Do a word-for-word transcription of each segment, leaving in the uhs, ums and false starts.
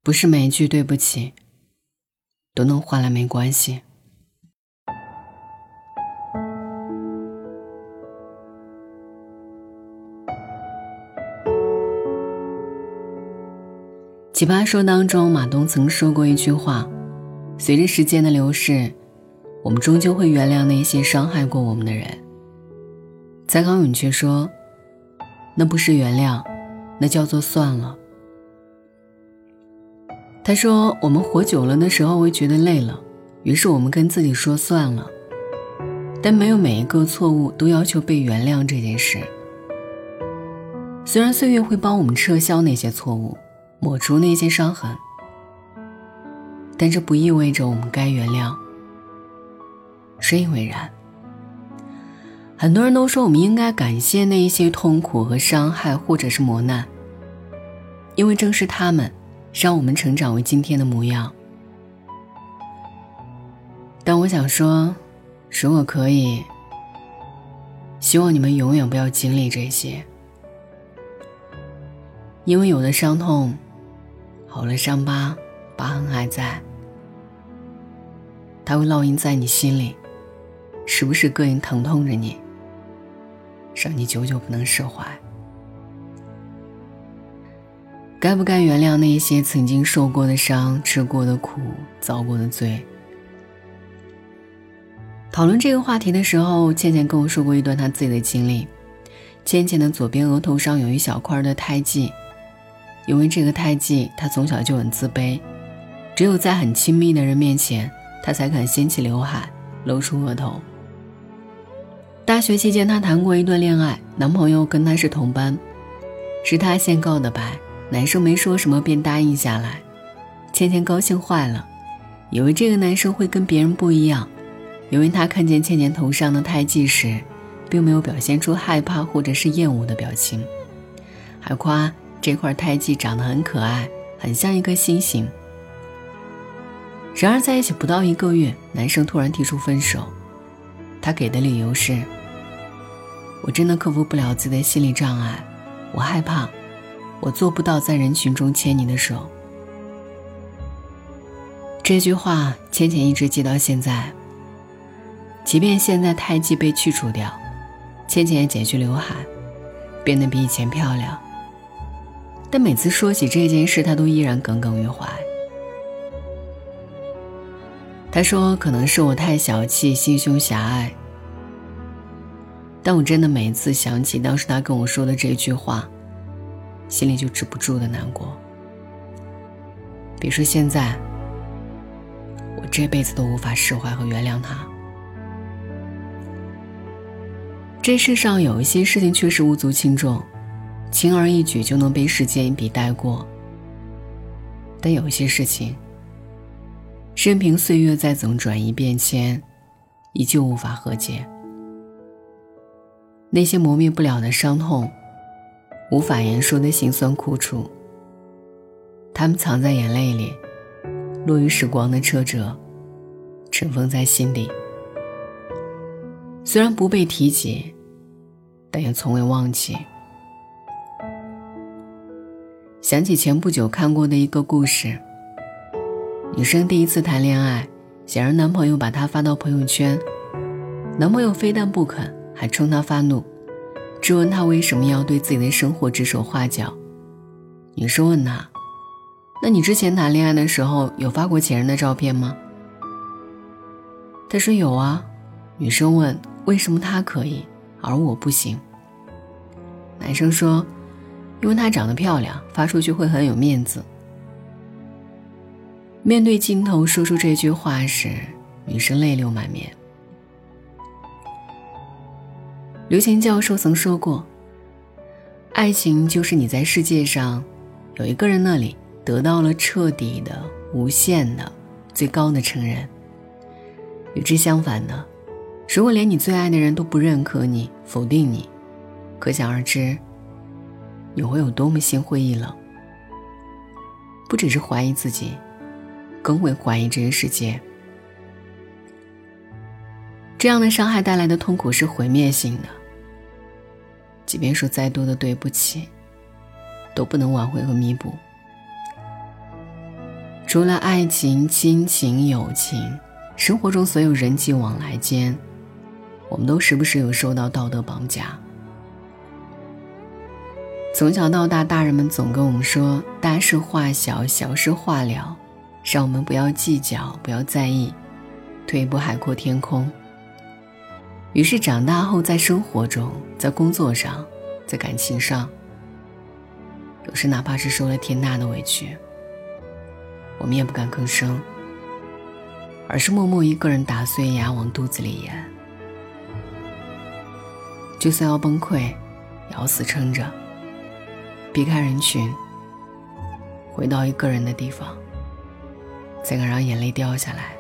不是每一句对不起都能换来没关系。奇葩说当中，马东曾说过一句话，随着时间的流逝，我们终究会原谅那些伤害过我们的人。蔡康永却说，那不是原谅，那叫做算了。他说，我们活久了的时候会觉得累了，于是我们跟自己说算了。但没有每一个错误都要求被原谅这件事。虽然岁月会帮我们撤销那些错误，抹除那些伤痕，但这不意味着我们该原谅。深以为然。很多人都说我们应该感谢那一些痛苦和伤害或者是磨难，因为正是他们让我们成长为今天的模样。但我想说，如果可以，希望你们永远不要经历这些，因为有的伤痛好了，伤疤疤痕还在，它会烙印在你心里，时不时膈应疼痛着你，让你久久不能释怀。该不该原谅那些曾经受过的伤，吃过的苦，遭过的罪？讨论这个话题的时候，倩倩跟我说过一段她自己的经历。倩倩的左边额头上有一小块的胎记，因为这个胎记，她从小就很自卑，只有在很亲密的人面前，她才肯掀起刘海，露出额头。大学期间，她谈过一段恋爱，男朋友跟她是同班，是她先告的白，男生没说什么便答应下来。倩倩高兴坏了，以为这个男生会跟别人不一样，因为他看见倩倩头上的胎记时，并没有表现出害怕或者是厌恶的表情，还夸这块胎记长得很可爱，很像一颗星星。然而在一起不到一个月，男生突然提出分手，他给的理由是，我真的克服不了自己的心理障碍，我害怕，我做不到在人群中牵你的手。这句话倩倩一直记到现在，即便现在胎记被去除掉，倩倩也剪去刘海，变得比以前漂亮，但每次说起这件事，她都依然耿耿于怀。她说，可能是我太小气，心胸狭隘，但我真的每次想起当时她跟我说的这句话，心里就止不住的难过。别说现在，我这辈子都无法释怀和原谅他。这世上有一些事情确实无足轻重，轻而易举就能被时间一笔带过，但有一些事情任凭岁月再怎么转移变迁，依旧无法和解。那些磨灭不了的伤痛，无法言说的辛酸苦楚，它们藏在眼泪里，落于时光的车辙，尘封在心底。虽然不被提及，但也从未忘记。想起前不久看过的一个故事，女生第一次谈恋爱，想让男朋友把她发到朋友圈，男朋友非但不肯，还冲她发怒，质问她为什么要对自己的生活指手画脚。女生问他，那你之前谈恋爱的时候有发过前任的照片吗？他说有啊。女生问，为什么他可以而我不行？男生说，因为她长得漂亮，发出去会很有面子。面对镜头说出这句话时，女生泪流满面。刘擎教授曾说过，爱情就是你在世界上有一个人那里得到了彻底的、无限的、最高的承认。与之相反的，如果连你最爱的人都不认可你，否定你，可想而知你会有多么心灰意冷。不只是怀疑自己，更会怀疑这个世界。这样的伤害带来的痛苦是毁灭性的，即便说再多的对不起，都不能挽回和弥补。 除了爱情、亲情、友情，生活中所有人际往来间，我们都时不时有受到道德绑架。从小到大，大人们总跟我们说，大事化小，小事化了，让我们不要计较，不要在意，退一步海阔天空。于是长大后，在生活中，在工作上，在感情上，有时哪怕是受了天大的委屈，我们也不敢吭声，而是默默一个人打碎牙往肚子里咽。就算要崩溃，也要死撑着，避开人群，回到一个人的地方，才敢让眼泪掉下来。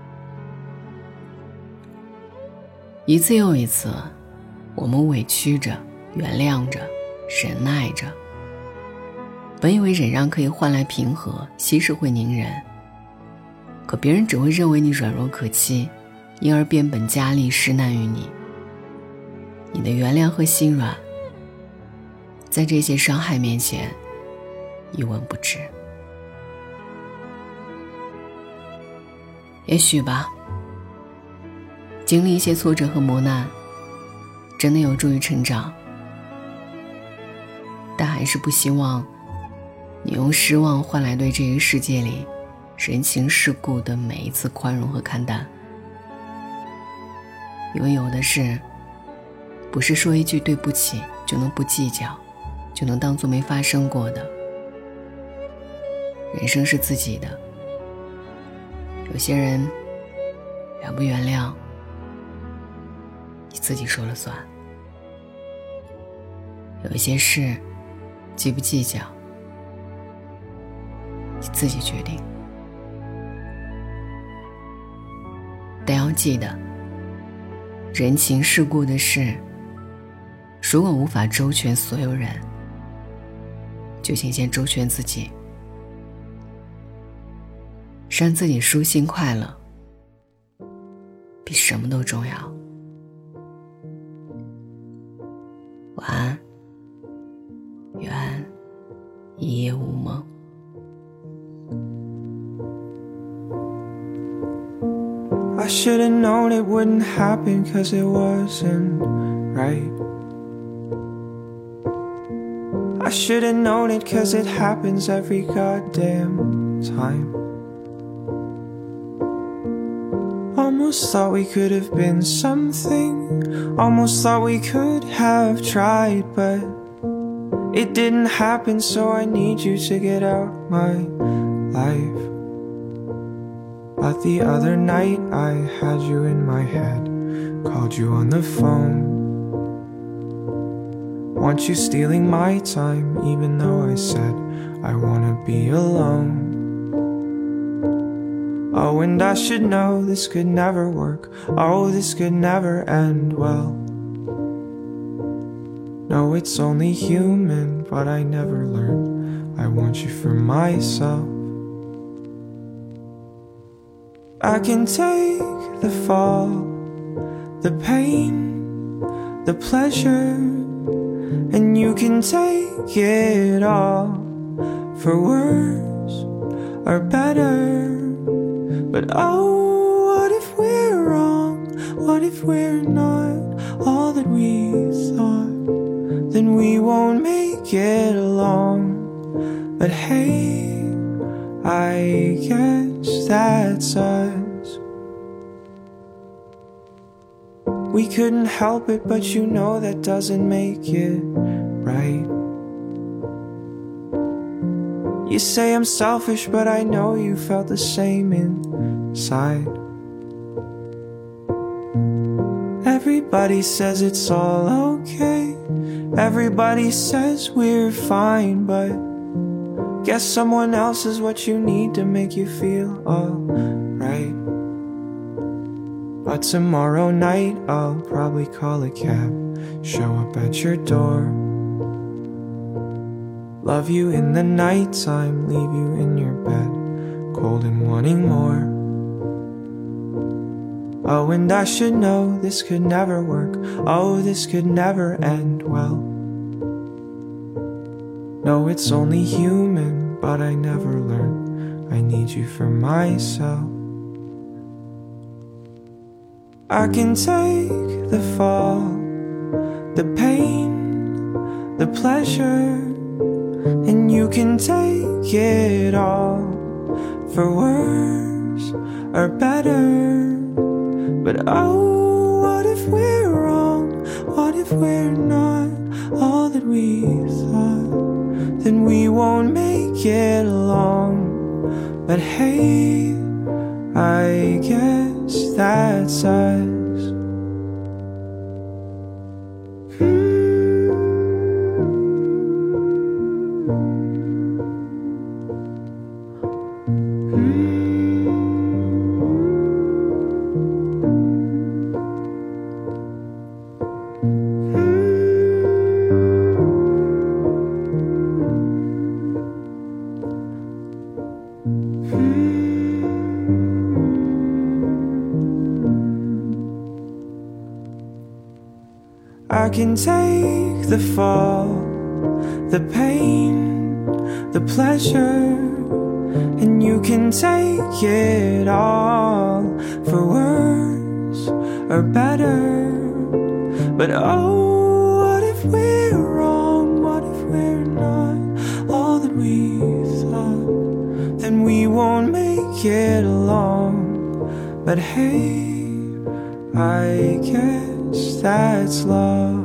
一次又一次，我们委屈着，原谅着，忍耐着，本以为忍让可以换来平和，息事会宁人，可别人只会认为你软弱可欺，因而变本加厉施难于你。你的原谅和心软，在这些伤害面前一文不值。也许吧，经历一些挫折和磨难，真的有助于成长，但还是不希望你用失望换来对这个世界里人情世故的每一次宽容和看淡。因为有的事不是说一句对不起就能不计较，就能当作没发生过的。人生是自己的，有些人原不原谅你自己说了算，有一些事计不计较你自己决定。但要记得，人情世故的事如果无法周全所有人，就请先周全自己，让自己舒心快乐比什么都重要。晚安，愿一夜无梦。 I should've known it wouldn't happen, 'cause it wasn't right. I should've known it, 'cause it happens every goddamn time. Almost thought we could have been something, almost thought we could have tried, but it didn't happen, so I need you to get out my life. But the other night I had you in my head, called you on the phone. Want you stealing my time, even though I said I wanna be alone. Oh, and I should know this could never work. Oh, this could never end well. No, it's only human, but I never learned I want you for myself. I can take the fall, the pain, the pleasure, and you can take it all, for worse or better. But oh, what if we're wrong? What if we're not all that we thought? Then we won't make it along. But hey, I guess that's us. We couldn't help it, but you know that doesn't make it right. You say I'm selfish, but I know you felt the same inside. Everybody says it's all okay, everybody says we're fine, but guess someone else is what you need to make you feel alright. But tomorrow night I'll probably call a cab, show up at your door. Love you in the nighttime, leave you in your bed, cold and wanting more. Oh, and I should know this could never work. Oh, this could never end well. No, it's only human, but I never learned I need you for myself. I can take the fall, the pain, the pleasure, and you can take it all, for worse or better. But oh, what if we're wrong? What if we're not all that we thought? Then we won't make it long. But hey, I guess that's us. I can take the fall, the pain, the pleasure, and you can take it all, for worse or better. But oh, what if we're wrong? What if we're not all that we thought? Then we won't make it along. But hey, I guess that's love.